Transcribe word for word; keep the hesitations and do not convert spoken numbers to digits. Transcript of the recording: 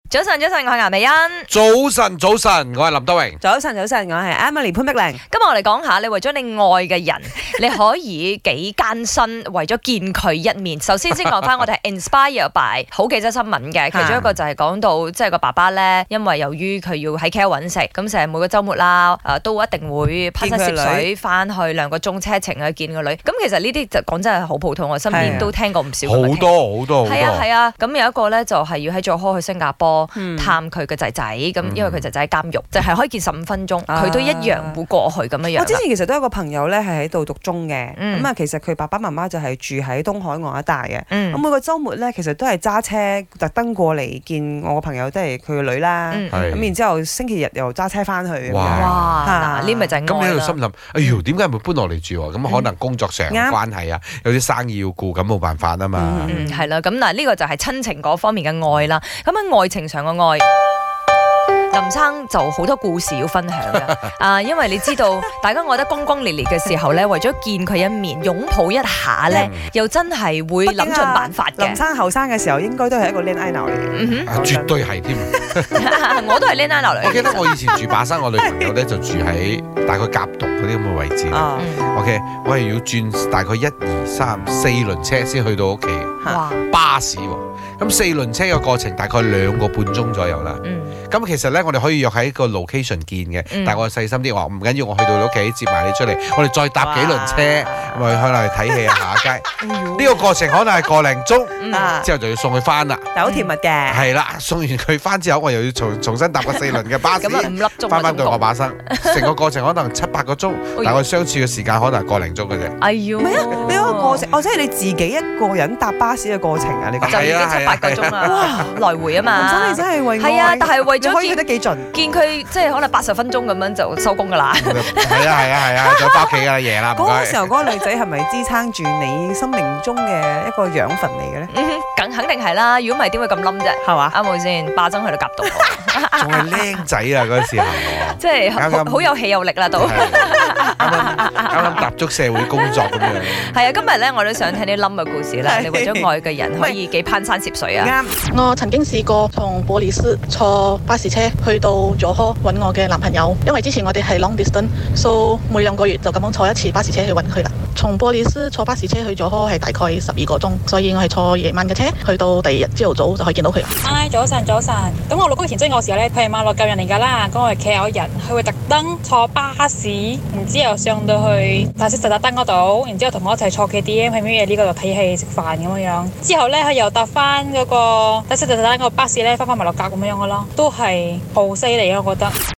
早晨，早晨，我係顏美欣。 早晨，早晨，我係林德榮。 早晨，早晨，我係 Emily 潘碧玲。 今日我哋講下，你為咗你愛嘅人，你可以幾艱辛，為咗見佢一面。首先先講翻，我哋係 inspire by 好幾則新聞嘅，其中一個就係講到，即係個爸爸咧，因為由於佢要喺 K L 揾食，咁成日每個週末啦，誒都一定會攀山涉水翻去兩個鐘車程去見個女。咁其實呢啲就講真係好普通，我身邊都聽過唔少。 好多好多好多。 係啊係啊，咁有一個咧就係要喺佐科去新加坡探佢嘅仔仔，咁因為佢仔仔喺監獄，就係可以見十五分鐘，佢都一樣會過去咁樣樣。 我之前其實都有個朋友咧係喺度讀中嘅，咁啊其實佢爸爸媽媽就係住喺東海岸一帶嘅，咁每個週末咧其實都係揸車特登過嚟見我個朋友，即係佢個女啦，咁然之後星期日又揸車翻去。 哇！嗱，呢咪就係愛啦。 咁你喺度心諗，哎呦，點解唔會搬落嚟住？咁可能工作上關係啊，有啲生意要顧，咁冇辦法啊嘛。 嗯，係啦，咁嗱呢個就係親情嗰方面嘅愛啦。咁喺愛情上嘅愛，林生就好多故事要分享嘅。啊，因為你知道大家愛得轟轟烈烈嘅時候咧，為咗見佢一面，擁抱一下咧，又真係會諗盡辦法嘅。 林生後生嘅時候應該都係一個 lane owner 嚟嘅， 嗯哼，絕對係添。 我都係 lane owner 嚟嘅。 我記得我以前住巴生，我女朋友咧就住喺大概甲毒嗰啲咁嘅位置。OK，我係要轉大概一二三四輪車先去到屋企。哇！巴士喎，咁四輪車嘅過程大概兩個半鐘左右啦。咁其實咧，我哋可以約喺個 location 見嘅，但係我細心啲話唔緊要，我去到你屋企接埋你出嚟，我哋再搭幾輪車，咪可能去睇戲啊，行下街。呢個過程可能係個零鐘，之後就要送佢翻啦。 但係好甜蜜嘅。係啦，送完佢翻之後，我又要重重新搭個四輪嘅巴士， 咁啊五粒鐘翻翻到我把生，成個過程可能七八個鐘，但係我相處嘅時間可能係個零鐘嘅啫。 哎呦， 唔係啊，你嗰個過程，哦，即係你自己一個人搭巴士嘅過程啊？你講就已經七八個鐘啦，哇，來回啊嘛。 林生你真係為係啊，但係為咗可以去得幾盡， 見佢即係可能八十分鐘咁樣就收工噶啦。 係啊係啊係啊，就翻屋企噶啦，夜啦。 嗰個時候嗰個女仔係咪支撐住你生命中嘅一個養分嚟嘅咧？ 嗯，梗肯定係啦，如果唔係點會咁冧啫？係嘛？啱冇先？霸爭去到夾到， 仲係僆仔啊嗰時候， 即係好有氣有力啦都。 啱啱啱啱踏足社會工作咁樣。 係啊，今日咧我都想聽啲冧嘅故事啦。你為咗愛嘅人可以幾攀山涉水啊？ 啱。我曾經試過從玻璃斯坐巴士車去到佐科揾我嘅男朋友，因為之前我哋係 long distance， 所以每兩個月就咁樣坐一次巴士車去揾佢啦。從玻璃斯坐巴士車去佐科係大概十二個鐘，所以我係坐夜晚嘅車去到第二日朝頭早就可以見到佢。 唉，早晨早晨。咁我老公以前追我嘅時候咧，佢係馬來舊人嚟㗎啦，咁我係 K L 人，佢會特登坐巴士，然之後上到去大色實達燈嗰度，然之後同我一齊坐 K T M 喺咩嘢呢個度睇戲食飯咁樣樣。之後咧佢又搭翻嗰個大色實達燈個巴士咧，翻返馬六甲咁樣樣嘅咯，都係好犀利啊！我覺得。